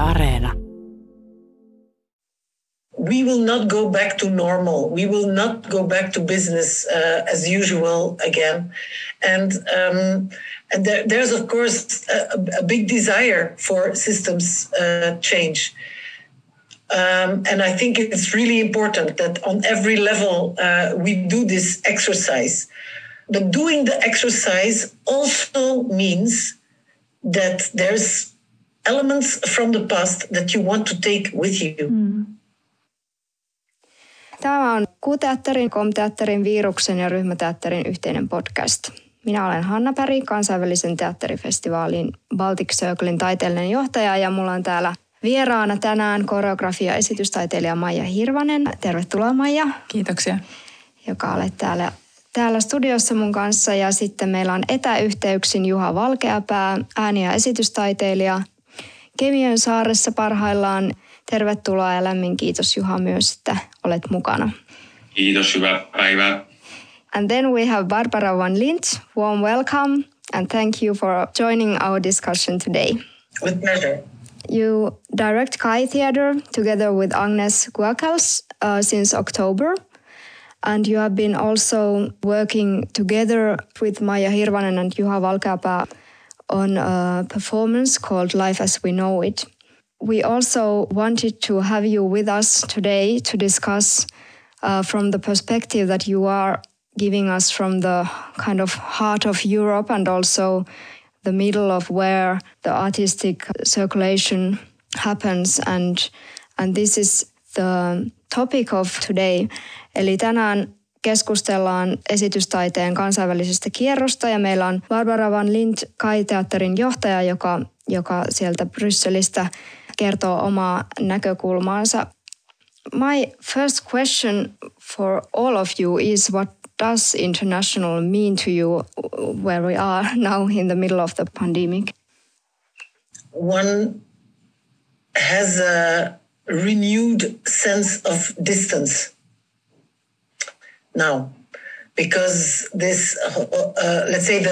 Areena. We will not go back to normal. We will not go back to business as usual again. And there's, of course, a big desire for systems change. And I think it's really important that on every level we do this exercise. But doing the exercise also means that there's elements from the past that you want to take with you. Tämä on Q-teatterin, Com-teatterin, Viruksen ja Ryhmäteatterin yhteinen podcast. Minä olen Hanna Päri, kansainvälisen teatterifestivaalin Baltic Circlein taiteellinen johtaja ja mulla on täällä vieraana tänään koreografia- ja esitystaiteilija Maija Hirvanen. Tervetuloa Maija. Kiitoksia. Joka olet täällä studiossa mun kanssa ja sitten meillä on etäyhteyksin Juha Valkeapää, ääni- ja esitystaiteilija Kemiön saaressa parhaillaan. Tervetuloa ja lämmin kiitos Juha myös, että olet mukana. Kiitos, hyvää päivää. And then we have Barbara van Lint. Warm welcome and thank you for joining our discussion today. With pleasure. You direct Kai Theatre together with Agnes Guakals since October. And you have been also working together with Maija Hirvanen and Juha Valkeapää on a performance called Life as We Know It. We also wanted to have you with us today to discuss from the perspective that you are giving us from the kind of heart of Europe and also the middle of where the artistic circulation happens. And this is the topic of today. Eli tänään keskustellaan esitystaiteen kansainvälisestä kierrosta ja meillä on Barbara van Lint, Kai-teatterin johtaja, joka sieltä Brysselistä kertoo omaa näkökulmaansa. My first question for all of you is what does international mean to you where we are now in the middle of the pandemic? One has a renewed sense of distance now, because this, let's say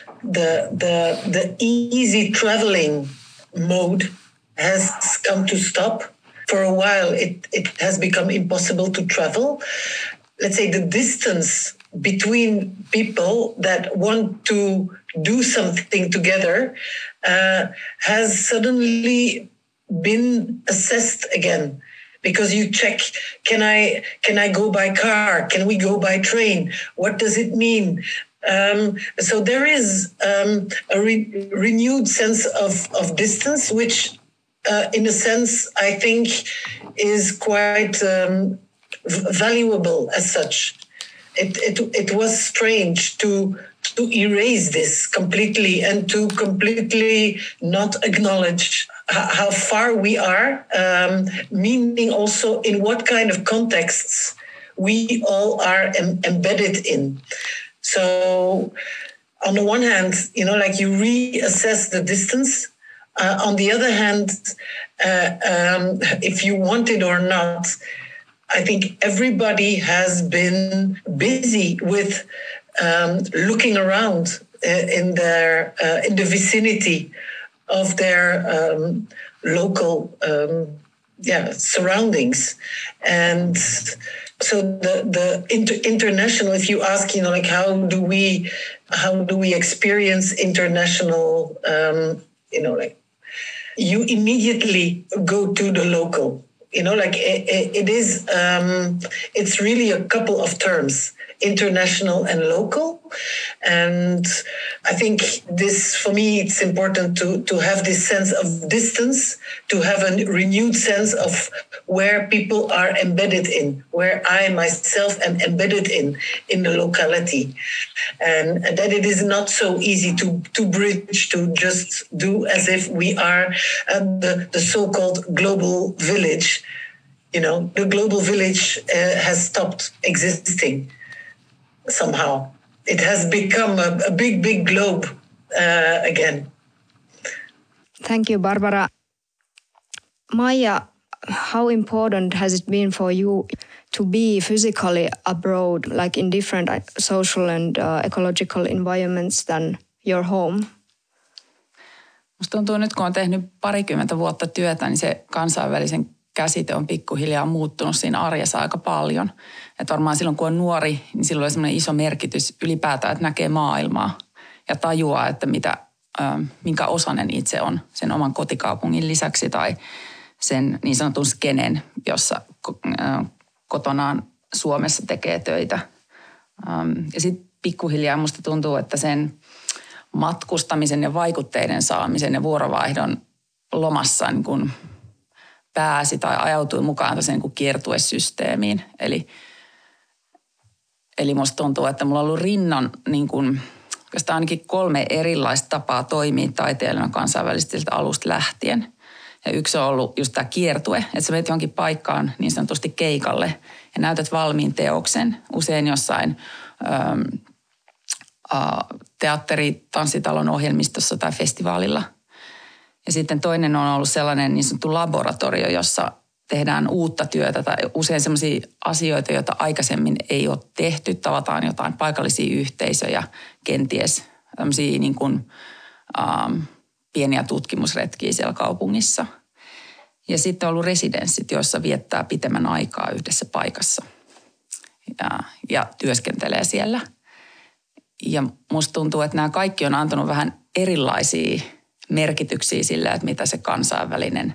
the easy traveling mode has come to stop. For a while, it has become impossible to travel. Let's say the distance between people that want to do something together has suddenly been assessed again. Because you check, can I go by car? Can we go by train? What does it mean? So there is a renewed sense of distance, which in a sense I think is quite valuable as such. It was strange to erase this completely and to completely not acknowledge how far we are, meaning also in what kind of contexts we all are embedded in. So on the one hand, like you reassess the distance. On the other hand, if you want it or not, I think everybody has been busy with looking around in the vicinity of their local surroundings. And so the international, if you ask, like how do we experience international, like you immediately go to the local. Like it is, it's really a couple of terms, international and local. And I think this, for me, it's important to have this sense of distance, to have a renewed sense of where people are embedded in, where I myself am embedded in the locality. And that it is not so easy to bridge, to just do as if we are the so-called global village. The global village has stopped existing somehow. It has become a big, big globe again. Thank you, Barbara. Maija, how important has it been for you to be physically abroad, like in different social and ecological environments than your home? Musta tuntuu nyt, kun on tehnyt 20 vuotta työtä, niin se kansainvälisen käsite on pikkuhiljaa muuttunut siinä arjessa aika paljon. Että varmaan silloin, kun on nuori, niin silloin on semmoinen iso merkitys ylipäätään, että näkee maailmaa ja tajuaa, että minkä osainen itse on sen oman kotikaupungin lisäksi tai sen niin sanotun skenen, jossa kotonaan Suomessa tekee töitä. Ja sitten pikkuhiljaa musta tuntuu, että sen matkustamisen ja vaikutteiden saamisen ja vuorovaihdon lomassa niin kun pääsi tai ajautui mukaan niin kuin kiertuesysteemiin. Eli musta tuntuu, että mulla on ollut rinnan niin kuin, ainakin 3 erilaista tapaa toimia taiteilijana kansainvälisesti alusta lähtien. Ja yksi on ollut just tämä kiertue, että sä menet johonkin paikkaan niin sanotusti keikalle ja näytät valmiin teoksen, usein jossain tanssitalon ohjelmistossa tai festivaalilla. Ja sitten toinen on ollut sellainen niin sanottu laboratorio, jossa tehdään uutta työtä tai usein sellaisia asioita, joita aikaisemmin ei ole tehty. Tavataan jotain paikallisia yhteisöjä, kenties tämmöisiä niin kuin, pieniä tutkimusretkiä siellä kaupungissa. Ja sitten on ollut residenssit, joissa viettää pitemmän aikaa yhdessä paikassa ja työskentelee siellä. Ja musta tuntuu, että nämä kaikki on antanut vähän erilaisia merkityksiä sillä, että mitä se kansainvälinen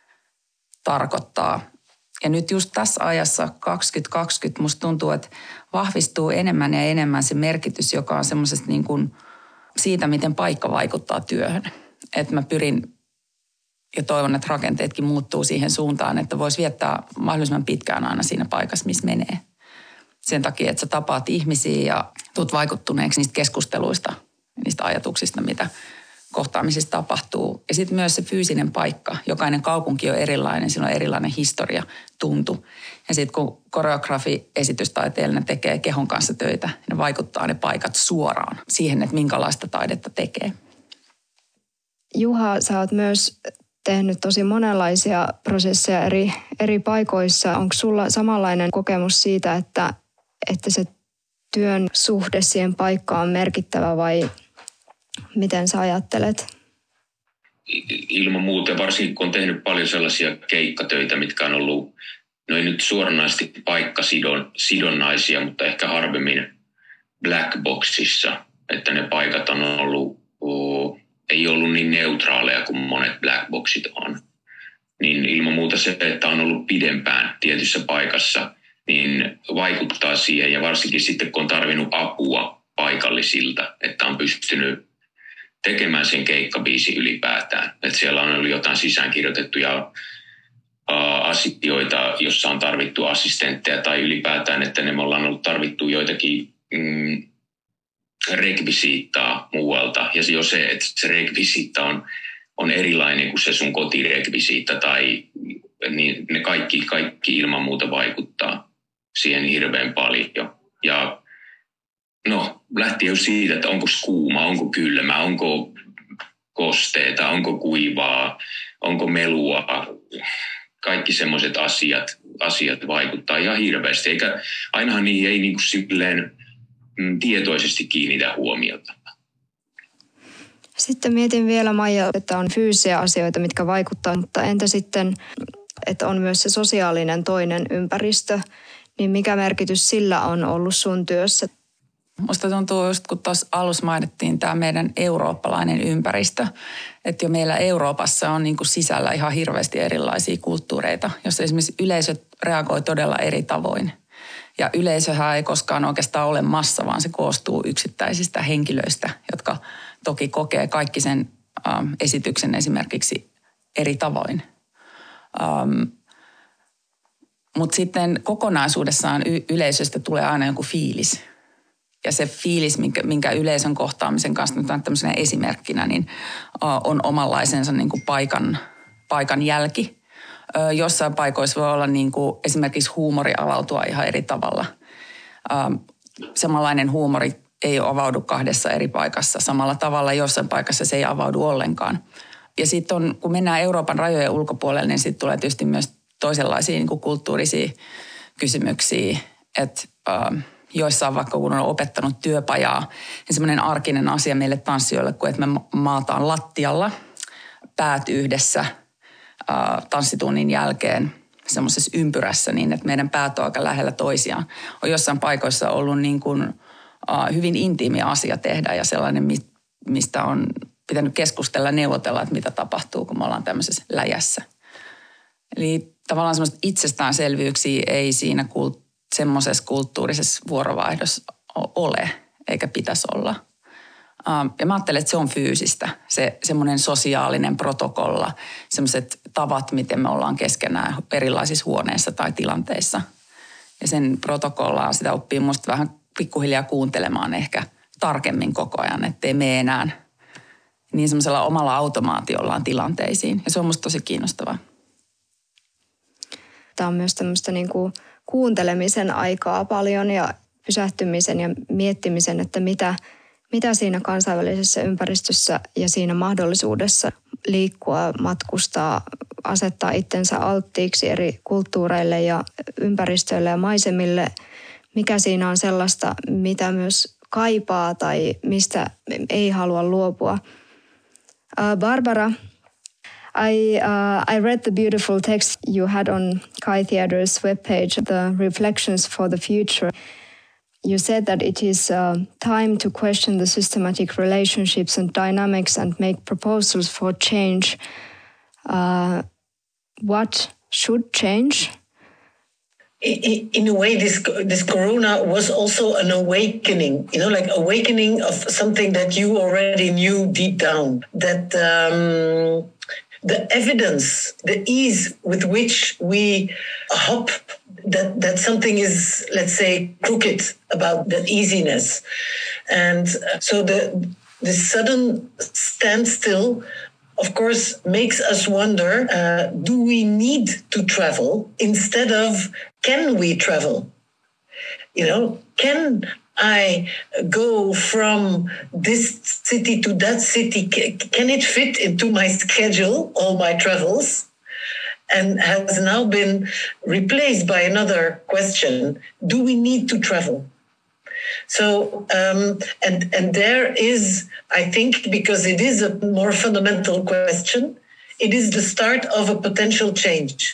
tarkoittaa. Ja nyt just tässä ajassa 2020 musta tuntuu, että vahvistuu enemmän ja enemmän se merkitys, joka on semmoisesta niin kuin siitä, miten paikka vaikuttaa työhön. Että mä pyrin ja toivon, että rakenteetkin muuttuu siihen suuntaan, että voisi viettää mahdollisimman pitkään aina siinä paikassa, missä menee. Sen takia, että sä tapaat ihmisiä ja tulet vaikuttuneeksi niistä keskusteluista, niistä ajatuksista, mitä kohtaamisissa tapahtuu. Ja sitten myös se fyysinen paikka. Jokainen kaupunki on erilainen, sillä on erilainen historia, tuntu. Ja sitten kun koreografi, esitystaiteellinen tekee kehon kanssa töitä, ne vaikuttaa ne paikat suoraan siihen, että minkälaista taidetta tekee. Juha, sä oot myös tehnyt tosi monenlaisia prosesseja eri paikoissa. Onko sulla samanlainen kokemus siitä, että se työn suhde siihen paikkaan on merkittävä vai miten sä ajattelet? Ilman muuta, varsinkin kun on tehnyt paljon sellaisia keikkatöitä, mitkä on ollut, no ei nyt suoranaisesti paikkasidonnaisia, mutta ehkä harvemmin black boxissa, että ne paikat on ollut, ei ollut niin neutraaleja kuin monet black boxit on. Niin ilman muuta se, että on ollut pidempään tietyssä paikassa, niin vaikuttaa siihen ja varsinkin sitten kun on tarvinnut apua paikallisilta, että on pystynyt tekemään sen keikkabiisin ylipäätään. Että siellä on ollut jotain sisäänkirjoitettuja asioita, jossa on tarvittu assistentteja tai ylipäätään, että me ollaan ollut tarvittu joitakin rekvisiittaa muualta. Ja jo se, että se rekvisiitta on erilainen kuin se sun kotirekvisiitta tai niin ne kaikki ilman muuta vaikuttaa siihen hirveän paljon. Ja no, lähtien jo siitä, että onko kuuma, onko kylmä, onko kosteita, onko kuivaa, onko melua. Kaikki semmoiset asiat vaikuttaa ihan hirveästi. Eikä ainahan niihin ei niin kuin silleen tietoisesti kiinnitä huomiota. Sitten mietin vielä, Maija, että on fyysisiä asioita, mitkä vaikuttaa, mutta entä sitten, että on myös se sosiaalinen toinen ympäristö, niin mikä merkitys sillä on ollut sun työssä? Musta tuntuu just, kun tuossa alussa mainittiin tämä meidän eurooppalainen ympäristö, että jo meillä Euroopassa on niin kuin sisällä ihan hirveästi erilaisia kulttuureita, jossa esimerkiksi yleisöt reagoi todella eri tavoin. Ja yleisöhän ei koskaan oikeastaan ole massa, vaan se koostuu yksittäisistä henkilöistä, jotka toki kokee kaikki sen esityksen esimerkiksi eri tavoin. Mutta sitten kokonaisuudessaan yleisöstä tulee aina joku fiilis. Ja se fiilis, minkä yleisön kohtaamisen kanssa nyt on tämmöisenä esimerkkinä, niin on omanlaisensa niin kuin paikan jälki. Jossain paikoissa voi olla niin kuin esimerkiksi huumori avautua ihan eri tavalla. Samanlainen huumori ei avaudu 2 eri paikassa samalla tavalla. Jossain paikassa se ei avaudu ollenkaan. Ja sitten kun mennään Euroopan rajojen ulkopuolelle, niin sitten tulee tietysti myös toisenlaisia niin kuin kulttuurisia kysymyksiä. Että joissain vaikka kun on opettanut työpajaa, niin semmoinen arkinen asia meille tanssijoille, kun että me maataan lattialla päät yhdessä tanssitunnin jälkeen semmoisessa ympyrässä niin, että meidän päät on aika lähellä toisiaan. On jossain paikoissa ollut niin kuin, hyvin intiimi asia tehdä ja sellainen, mistä on pitänyt keskustella ja neuvotella, että mitä tapahtuu, kun me ollaan tämmöisessä läjässä. Eli tavallaan semmoista itsestäänselvyyksiä ei siinä semmoisessa kulttuurisessa vuorovaihdossa ole, eikä pitäisi olla. Ja mä ajattelen, että se on fyysistä, se semmoinen sosiaalinen protokolla, semmoiset tavat, miten me ollaan keskenään erilaisissa huoneissa tai tilanteissa. Ja sen protokollaa sitä oppii musta vähän pikkuhiljaa kuuntelemaan ehkä tarkemmin koko ajan, ettei mene enää niin semmoisella omalla automaatiollaan tilanteisiin. Ja se on musta tosi kiinnostavaa. Tämä on myös tämmöistä niin kuin kuuntelemisen aikaa paljon ja pysähtymisen ja miettimisen, että mitä siinä kansainvälisessä ympäristössä ja siinä mahdollisuudessa liikkua, matkustaa, asettaa itsensä alttiiksi eri kulttuureille ja ympäristöille ja maisemille. Mikä siinä on sellaista, mitä myös kaipaa tai mistä ei halua luopua. Barbara, I read the beautiful text you had on KAI Theatre's webpage, the Reflections for the Future. You said that it is time to question the systematic relationships and dynamics and make proposals for change. What should change? In a way, this corona was also an awakening, like awakening of something that you already knew deep down. That the evidence, the ease with which we hop, that something is, let's say, crooked about that easiness. And so the sudden standstill, of course, makes us wonder, do we need to travel instead of can we travel? Can I go from this city to that city? Can it fit into my schedule, all my travels? And has now been replaced by another question. Do we need to travel? So, and there is, I think, because it is a more fundamental question, it is the start of a potential change.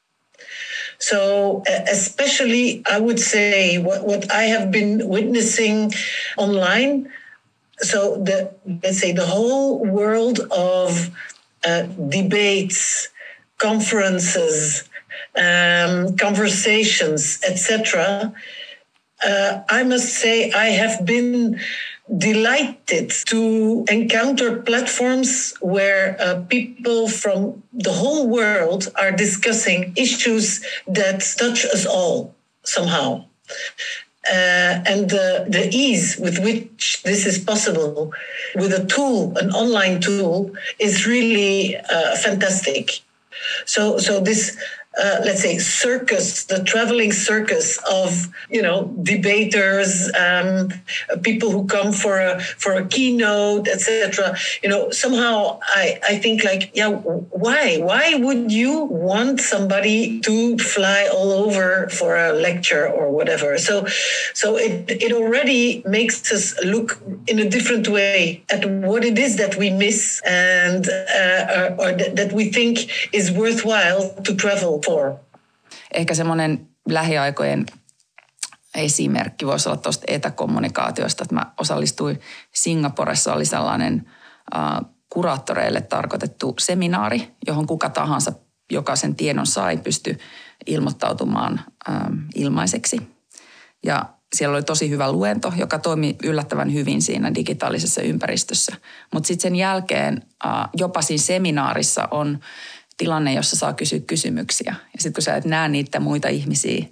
So especially, I would say, what I have been witnessing online, so let's say the whole world of debates, conferences, conversations, etc., I must say I have been delighted to encounter platforms where people from the whole world are discussing issues that touch us all somehow. And the ease with which this is possible with a tool, an online tool, is really fantastic. So this, let's say, circus, the traveling circus of, debaters, people who come for a keynote, etc. Somehow I think why would you want somebody to fly all over for a lecture or whatever? So it already makes us look in a different way at what it is that we miss and or that we think is worthwhile to travel for. Ehkä semmoinen lähiaikojen esimerkki voisi olla tuosta etäkommunikaatiosta, että mä osallistuin Singaporessa, oli sellainen kuraattoreille tarkoitettu seminaari, johon kuka tahansa, joka sen tiedon sai, pystyi ilmoittautumaan ilmaiseksi. Ja siellä oli tosi hyvä luento, joka toimi yllättävän hyvin siinä digitaalisessa ympäristössä. Mutta sitten sen jälkeen jopa siinä seminaarissa on tilanne, jossa saa kysyä kysymyksiä. Ja sitten kun sä et näe niitä muita ihmisiä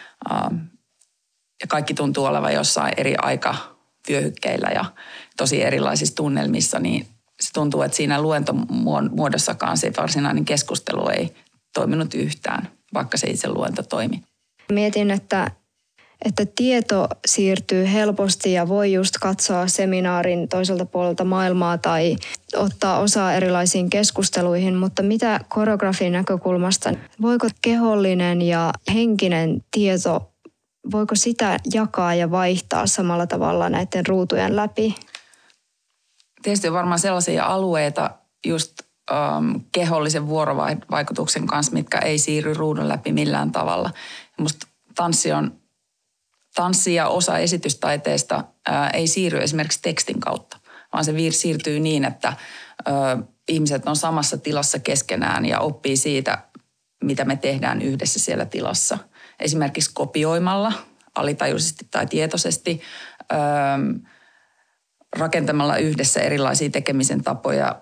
ja kaikki tuntuu olevan jossain eri aikavyöhykkeillä ja tosi erilaisissa tunnelmissa, niin se tuntuu, että siinä luentomuodossakaan se varsinainen keskustelu ei toiminut yhtään, vaikka se itse luento toimi. Mietin, että tieto siirtyy helposti ja voi just katsoa seminaarin toiselta puolelta maailmaa tai ottaa osaa erilaisiin keskusteluihin, mutta mitä koreografin näkökulmasta, voiko kehollinen ja henkinen tieto, voiko sitä jakaa ja vaihtaa samalla tavalla näiden ruutujen läpi? Tietysti on varmaan sellaisia alueita, just kehollisen vuorovaikutuksen kanssa, mitkä ei siirry ruudun läpi millään tavalla. Musta tanssi ja osa esitystaiteesta ei siirry esimerkiksi tekstin kautta, vaan se siirtyy niin, että ihmiset on samassa tilassa keskenään ja oppii siitä, mitä me tehdään yhdessä siellä tilassa. Esimerkiksi kopioimalla, alitajuisesti tai tietoisesti, rakentamalla yhdessä erilaisia tekemisen tapoja,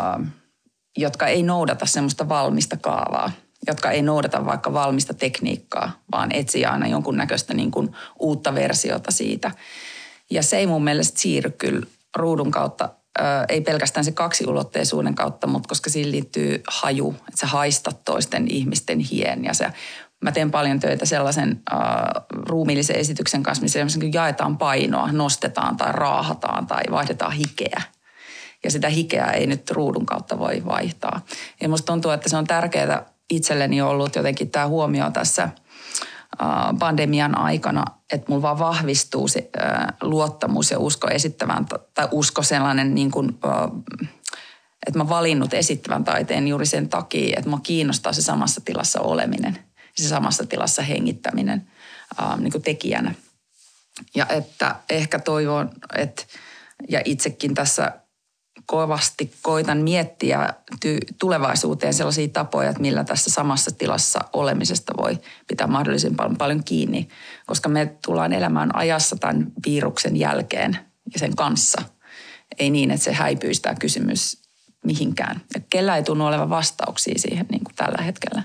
jotka ei noudata semmoista valmista kaavaa, jotka ei noudata vaikka valmista tekniikkaa, vaan etsii aina jonkunnäköistä niin kuin uutta versiota siitä. Ja se ei mun mielestä siirry kyllä ruudun kautta, ei pelkästään se kaksiulotteisuuden kautta, mutta koska siihen liittyy haju, että sä haistat toisten ihmisten hien. Ja mä teen paljon töitä sellaisen ruumiillisen esityksen kanssa, missä jaetaan painoa, nostetaan tai raahataan tai vaihdetaan hikeä. Ja sitä hikeä ei nyt ruudun kautta voi vaihtaa. Ja musta tuntuu, että se on tärkeää itselleni ollut jotenkin tämä huomio tässä pandemian aikana, että mulla vaan vahvistuu se luottamus ja usko esittävään, tai usko sellainen niin kuin, että mä valinnut esittävän taiteen juuri sen takia, että mua kiinnostaa se samassa tilassa oleminen, se samassa tilassa hengittäminen niin kuin tekijänä. Ja että ehkä toivon, että ja itsekin tässä kovasti koitan miettiä tulevaisuuteen sellaisia tapoja, että millä tässä samassa tilassa olemisesta voi pitää mahdollisimman paljon kiinni, koska me tullaan elämään ajassa tämän viruksen jälkeen ja sen kanssa. Ei niin, että se häipyisi tämä kysymys mihinkään. Ja kellä ei tunnu olevan vastauksia siihen niin kuin tällä hetkellä.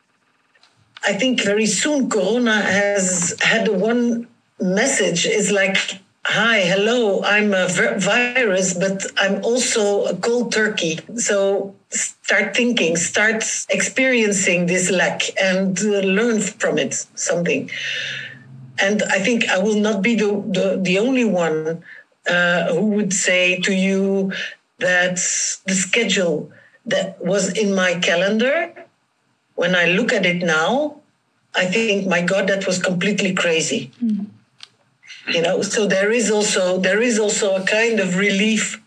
I think very soon Corona has had one message is like, hi, hello, I'm a virus, but I'm also a cold turkey. So start thinking, start experiencing this lack and learn from it something. And I think I will not be the only one who would say to you that the schedule that was in my calendar, when I look at it now, I think, my God, that was completely crazy. Mm. You know, so there is also a kind of relief,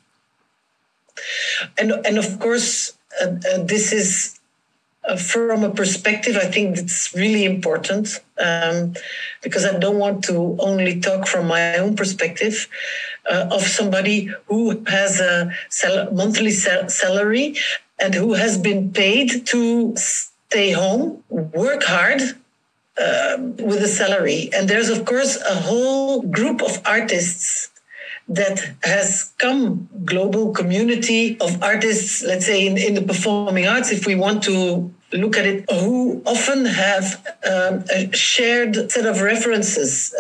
and of course this is from a perspective. I think it's really important because I don't want to only talk from my own perspective of somebody who has a monthly salary and who has been paid to stay home, work hard. With a salary. And there's, of course, a whole group of artists that has come, global community of artists, let's say in the performing arts, if we want to look at it, who often have a shared set of references,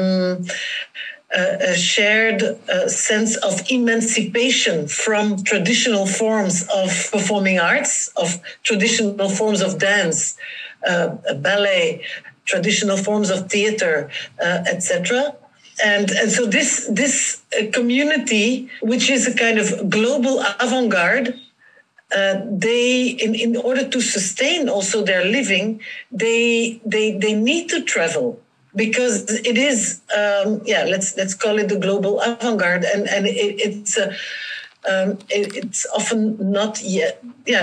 a shared sense of emancipation from traditional forms of performing arts, of traditional forms of dance, ballet, traditional forms of theater, etc. And so this community, which is a kind of global avant-garde, they in order to sustain also their living, they need to travel because it is let's call it the global avant-garde, and it's often not yet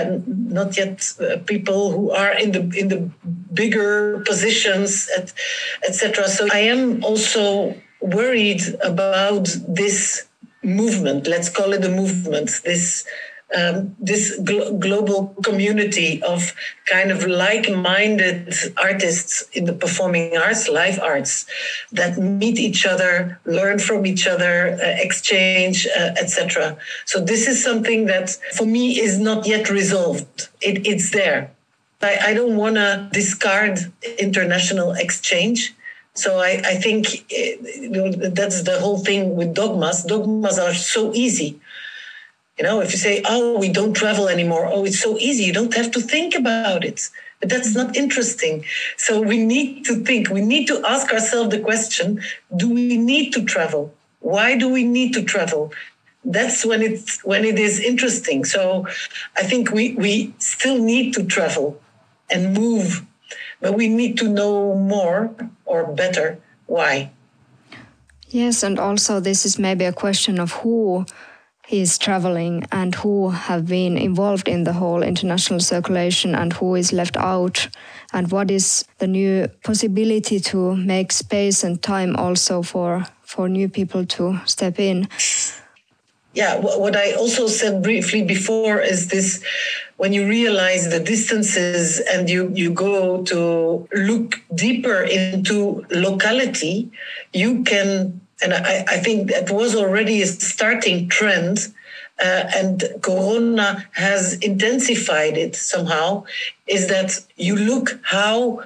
people who are in the bigger positions, etc. So I am also worried about this movement. Let's call it a movement. This global community of kind of like-minded artists in the performing arts, live arts, that meet each other, learn from each other, exchange, etc. So this is something that, for me, is not yet resolved. It's there. I don't want to discard international exchange. So I think that's the whole thing with dogmas. Dogmas are so easy. You know, if you say, oh, we don't travel anymore, oh, it's so easy, you don't have to think about it. But that's not interesting. So we need to think, we need to ask ourselves the question, do we need to travel? Why do we need to travel? That's when it is interesting. So I think we still need to travel and move, but we need to know more or better why. Yes, and also this is maybe a question of who he's traveling and who have been involved in the whole international circulation and who is left out, and what is the new possibility to make space and time also for new people to step in. Yeah, what I also said briefly before is this: when you realize the distances and you go to look deeper into locality, you can, and I think that was already a starting trend, and Corona has intensified it somehow, is that you look how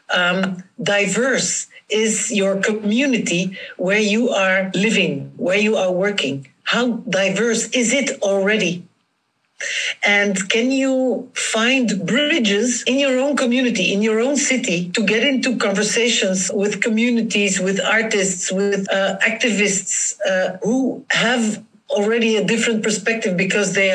diverse is your community where you are living, where you are working. How diverse is it already? And can you find bridges in your own community, in your own city, to get into conversations with communities, with artists, with activists who have already a different perspective because they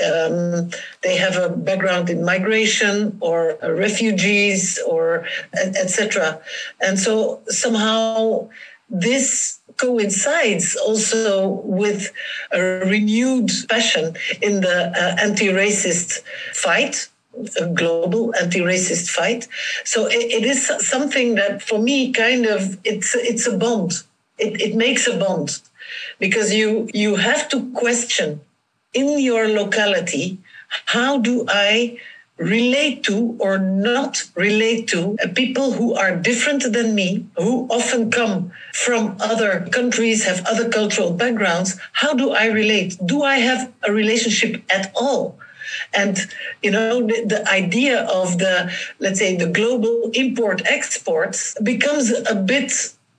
have a background in migration or refugees or etc. And so somehow this coincides also with a renewed passion in the anti-racist fight, a global anti-racist fight. So it is something that for me kind of, it's a bond. It makes a bond because you have to question in your locality, how do I relate to or not relate to people who are different than me, who often come from other countries, have other cultural backgrounds. How do I relate? Do I have a relationship at all? And, you know, the idea of let's say, the global import-exports becomes a bit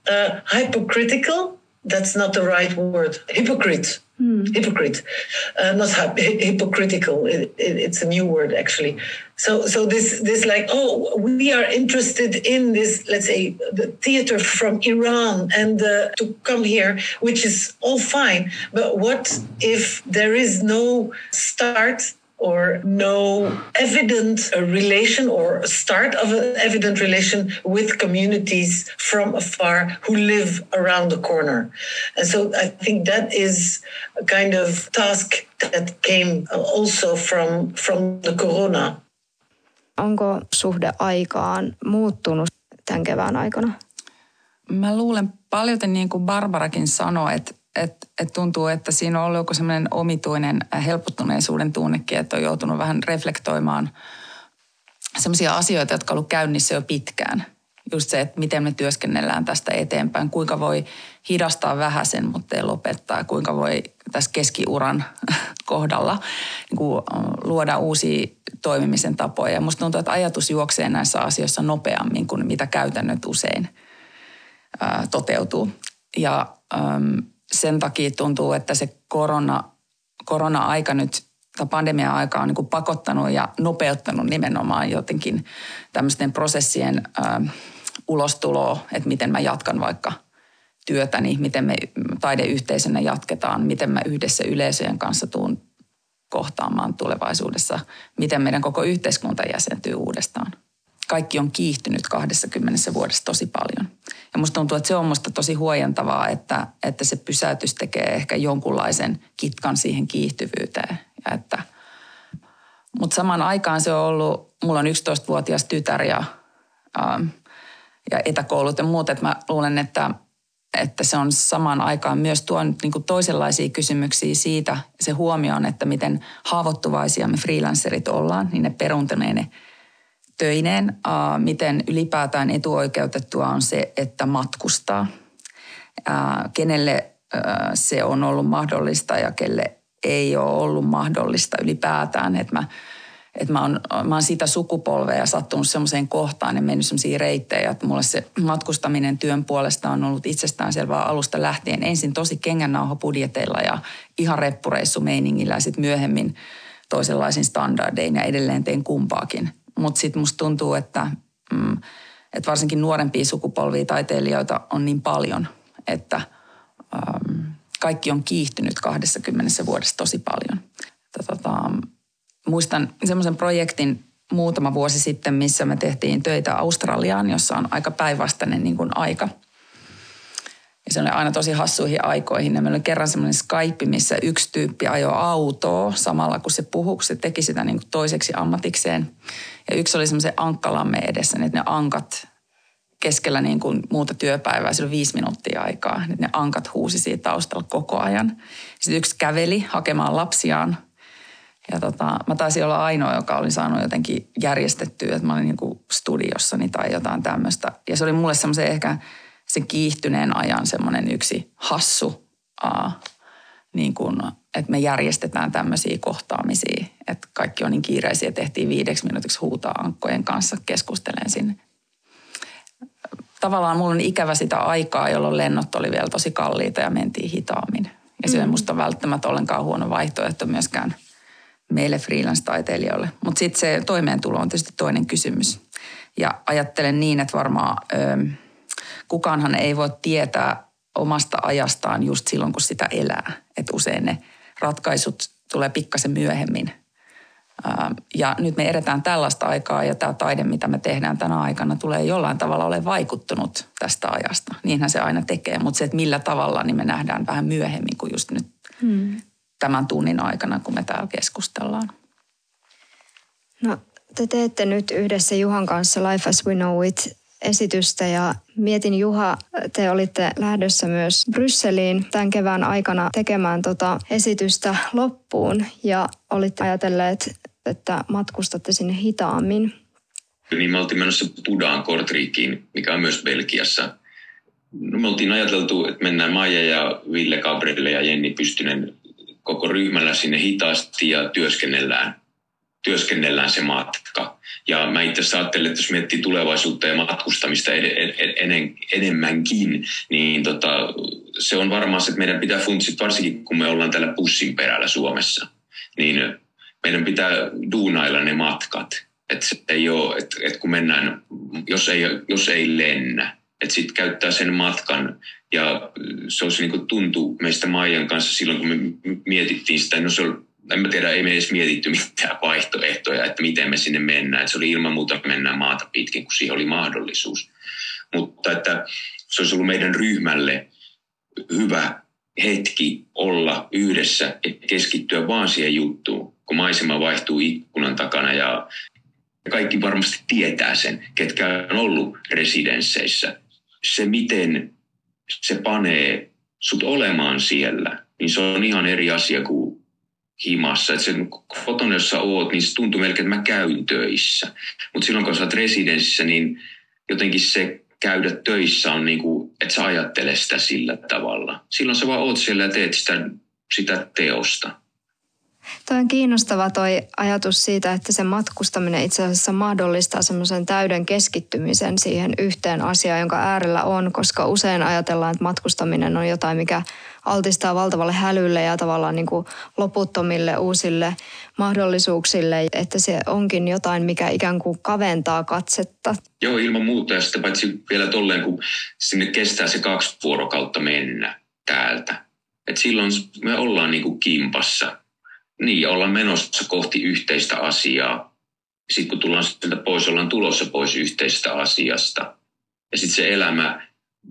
hypocritical. That's not the right word. Hypocrite. Hypocrite, not hypocritical. It's a new word, actually. So this like, oh, we are interested in this, let's say, the theater from Iran and to come here, which is all fine. But what if there is no start or no evident relation or start of an evident relation with communities from afar who live around the corner? And so I think that is a kind of task that came also from the corona. Onko suhde aikaan muuttunut tämän kevään aikana? Mä luulen paljolti niin kuin Barbarakin sanoi, että tuntuu, että siinä on ollut joku semmoinen omituinen helpottuneisuuden tunnekin, että on joutunut vähän reflektoimaan semmoisia asioita, jotka on ollut käynnissä jo pitkään. Just se, että miten me työskennellään tästä eteenpäin, kuinka voi hidastaa vähäsen, mutta ei lopettaa, kuinka voi tässä keskiuran kohdalla niin kuin luoda uusia toimimisen tapoja. Ja musta tuntuu, että ajatus juoksee näissä asioissa nopeammin kuin mitä käytännöt usein toteutuu. Ja sen takia tuntuu, että se korona-aika nyt, tai pandemia-aika on niin kuin pakottanut ja nopeuttanut nimenomaan jotenkin tämmöisten prosessien ulostuloa, että miten mä jatkan vaikka työtäni, miten me taideyhteisönä jatketaan, miten mä yhdessä yleisöjen kanssa tuun kohtaamaan tulevaisuudessa, miten meidän koko yhteiskunta jäsentyy uudestaan. Kaikki on kiihtynyt 20 vuodessa tosi paljon. Ja musta tuntuu, että se on musta tosi huojentavaa, että se pysäytys tekee ehkä jonkunlaisen kitkan siihen kiihtyvyyteen. Mutta samaan aikaan se on ollut, mulla on 11-vuotias tytär ja etäkoulut ja muut, että mä luulen, että se on samaan aikaan myös tuonut niin kuin toisenlaisia kysymyksiä siitä, se huomioon, että miten haavoittuvaisia me freelancerit ollaan, niin ne peruntuneine töineen, miten ylipäätään etuoikeutettua on se, että matkustaa, kenelle se on ollut mahdollista ja kelle ei ole ollut mahdollista ylipäätään, että mä oon sitä sukupolvea ja sattunut semmoiseen kohtaan ja mennyt semmoisia reittejä, että mulle se matkustaminen työn puolesta on ollut itsestäänselvää alusta lähtien. Ensin tosi kengännauhapudjeteilla ja ihan reppureissumeiningillä ja sitten myöhemmin toisenlaisin standardein ja edelleen teen kumpaakin. Mutta sitten musta tuntuu, että varsinkin nuorempia sukupolvia taiteilijoita on niin paljon, että kaikki on kiihtynyt 20 vuodessa tosi paljon. Muistan semmoisen projektin muutama vuosi sitten, missä me tehtiin töitä Australiaan, jossa on aika päinvastainen niin kuin aika. Ja se oli aina tosi hassuihin aikoihin. Ja meillä oli kerran semmoinen Skype, missä yksi tyyppi ajoi autoa samalla kun se puhui, kun se teki sitä niin kuin toiseksi ammatikseen. Ja yksi oli semmoisen ankkalamme edessä, että ne ankat keskellä niin kuin muuta työpäivää, sillä 5 minuuttia aikaa. Että ne ankat huusi siitä taustalla koko ajan. Sitten yksi käveli hakemaan lapsiaan. Ja mä taisin olla ainoa, joka oli saanut jotenkin järjestettyä, että mä olin niin kuin studiossani tai jotain tämmöistä. Ja se oli mulle semmoisen ehkä sen kiihtyneen ajan semmoinen yksi hassu, niin kuin, että me järjestetään tämmöisiä kohtaamisia. Että kaikki on niin kiireisiä, tehtiin 5 minuutiksi huutaa ankkojen kanssa keskustelen sinne. Tavallaan mulla on ikävä sitä aikaa, jolloin lennot oli vielä tosi kalliita ja mentiin hitaammin. Ja se ei musta välttämättä ollenkaan huono vaihtoehto myöskään meille freelance-taiteilijoille. Mutta sitten se toimeentulo on tietysti toinen kysymys. Ja ajattelen niin, että varmaan kukaanhan ei voi tietää omasta ajastaan just silloin, kun sitä elää. Että usein ne ratkaisut tulee pikkasen myöhemmin. Ja nyt me edetään tällaista aikaa ja tämä taide, mitä me tehdään tänä aikana, tulee jollain tavalla ole vaikuttunut tästä ajasta. Niinhän se aina tekee, mutta se, että millä tavalla, niin me nähdään vähän myöhemmin kuin just nyt tämän tunnin aikana, kun me täällä keskustellaan. No, te teette nyt yhdessä Juhan kanssa Life as we know it -esitystä ja mietin, Juha, te olitte lähdössä myös Brysseliin tämän kevään aikana tekemään esitystä loppuun ja olitte ajatelleet, että matkustatte sinne hitaammin. Niin me oltiin menossa Budaan Kortrikiin, mikä on myös Belgiassa. No, me oltiin ajateltu, että mennään Maija ja Ville Gabrielle ja Jenni Pystynen koko ryhmällä sinne hitaasti ja työskennellään se matka. Ja mä itse asiassa ajattelin, että jos miettii tulevaisuutta ja matkustamista enemmänkin, niin se on varmaan se, että meidän pitää funtsia, varsinkin kun me ollaan täällä bussin perällä Suomessa, niin meidän pitää duunailla ne matkat. Että se ei ole, että kun mennään, jos ei lennä, että sitten käyttää sen matkan. Ja se olisi niin kuin tuntui meistä Maijan kanssa silloin, kun me mietittiin sitä, no se oli, en mä tiedä, ei me edes mietitty mitään vaihtoehtoja, että miten me sinne mennään. Että se oli ilman muuta, että mennään maata pitkin, kun siihen oli mahdollisuus. Mutta että se olisi ollut meidän ryhmälle hyvä hetki olla yhdessä ja keskittyä vaan siihen juttuun, kun maisema vaihtuu ikkunan takana ja kaikki varmasti tietää sen, ketkä on ollut residensseissä. Se, miten se panee sut olemaan siellä, niin se on ihan eri asia kuin himassa. Että sen kotona, jossa oot, niin se tuntuu melkein, että mä käyn töissä. Mutta silloin, kun sä oot residenssissä, niin jotenkin se käydä töissä on niin kuin, että sä ajattele sitä sillä tavalla. Silloin sä vaan oot siellä ja teet sitä teosta. Toi on kiinnostava toi ajatus siitä, että se matkustaminen itse asiassa mahdollistaa semmoisen täyden keskittymisen siihen yhteen asiaan, jonka äärellä on, koska usein ajatellaan, että matkustaminen on jotain, mikä altistaa valtavalle hälylle ja tavallaan niin kuin loputtomille uusille mahdollisuuksille, että se onkin jotain, mikä ikään kuin kaventaa katsetta. Joo, ilman muuta ja sitten paitsi vielä tolleen, kun sinne kestää se 2 vuorokautta mennä täältä. Että silloin me ollaan niin kuin kimpassa. Niin, ollaan menossa kohti yhteistä asiaa. Sitten kun tullaan sieltä pois, ollaan tulossa pois yhteisestä asiasta. Ja sitten se elämä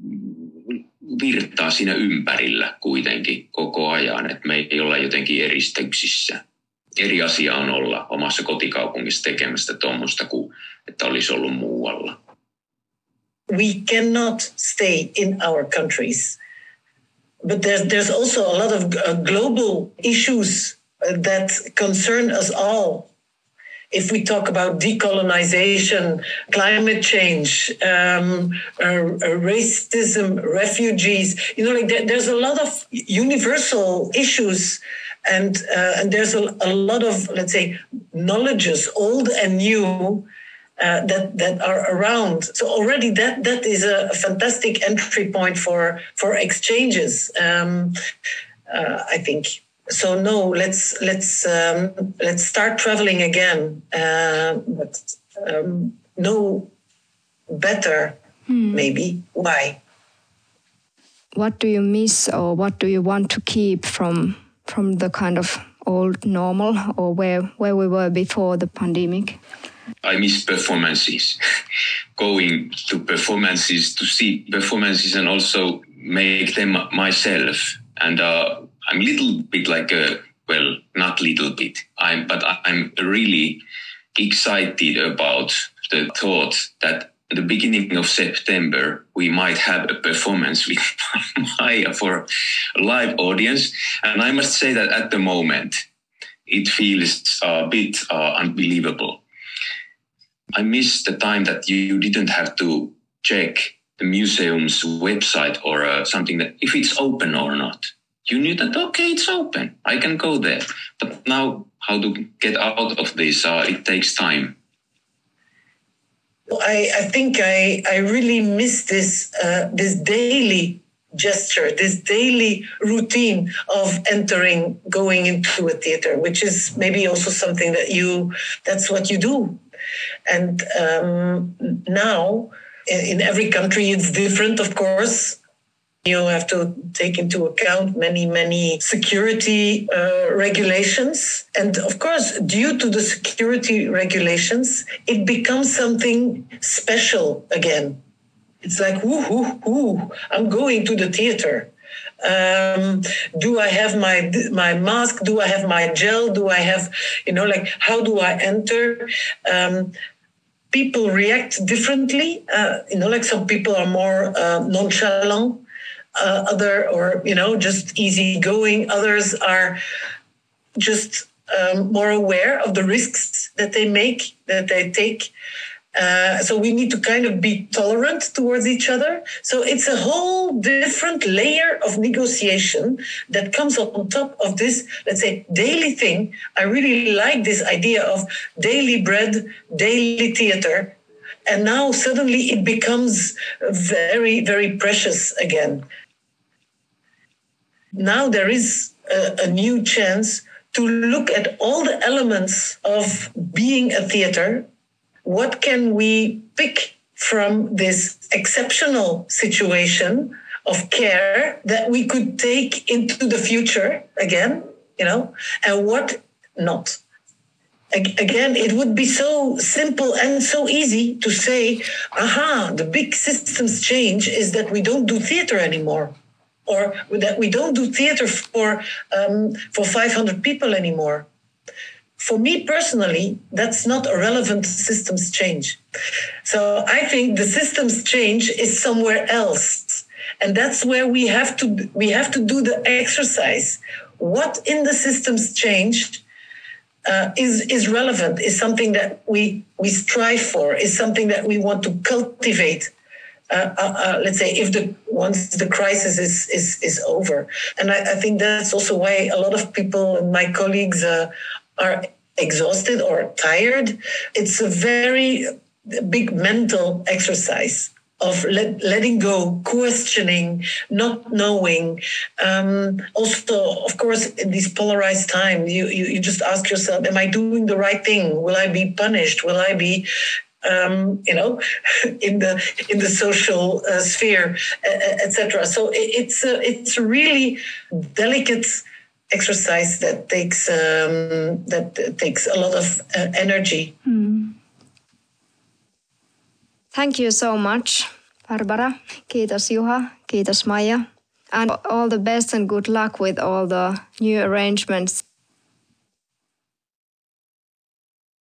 virtaa siinä ympärillä kuitenkin koko ajan. Että me ei olla jotenkin eristyksissä. Eri asia on olla omassa kotikaupungissa tekemästä tuommoista kuin että olisi ollut muualla. We cannot stay in our countries. But there's also a lot of global issues that concern us all. If we talk about decolonization, climate change, racism, refugees, there's a lot of universal issues, and there's a lot of, let's say, knowledges, old and new, that are around. So already that is a fantastic entry point for exchanges. I think. So no, let's start traveling again. But no better, maybe. Why? What do you miss, or what do you want to keep from the kind of old normal, or where we were before the pandemic? I miss performances. Going to performances, to see performances, and also make them myself. And I'm a little bit like not little bit. But I'm really excited about the thought that at the beginning of September, we might have a performance with Maija for a live audience. And I must say that at the moment, it feels a bit unbelievable. I miss the time that you didn't have to check the museum's website or something that if it's open or not. You knew that, okay, it's open. I can go there. But now how to get out of this, it takes time. I think I really miss this daily gesture, this daily routine of going into a theater, which is maybe also something that's what you do. And now in every country it's different, of course. You have to take into account many security regulations. And of course, due to the security regulations, it becomes something special again. It's like, I'm going to the theater. Do I have my mask? Do I have my gel? Do I have, how do I enter? People react differently. Some people are more nonchalant. Just easygoing. Others are just more aware of the risks that they take. So we need to kind of be tolerant towards each other. So it's a whole different layer of negotiation that comes on top of this, let's say, daily thing. I really like this idea of daily bread, daily theater. And now suddenly it becomes very, very precious again. Now there is a new chance to look at all the elements of being a theater. What can we pick from this exceptional situation of care that we could take into the future again, and what not? Again, it would be so simple and so easy to say, the big systems change is that we don't do theater anymore. Or that we don't do theater for 500 people anymore. For me personally, that's not a relevant systems change. So I think the systems change is somewhere else, and that's where we have to do the exercise. What in the systems change is relevant? Is something that we strive for? Is something that we want to cultivate? Let's say once the crisis is over. And I think that's also why a lot of people and my colleagues are exhausted or tired. It's a very big mental exercise of letting go, questioning, not knowing. Also, of course, in these polarized times, you just ask yourself, am I doing the right thing? Will I be punished? Will I be in the social sphere, etc. So it's a really delicate exercise that takes a lot of energy. Thank you so much, Barbara. Kiitos Juha. Kiitos Maija. And all the best and good luck with all the new arrangements.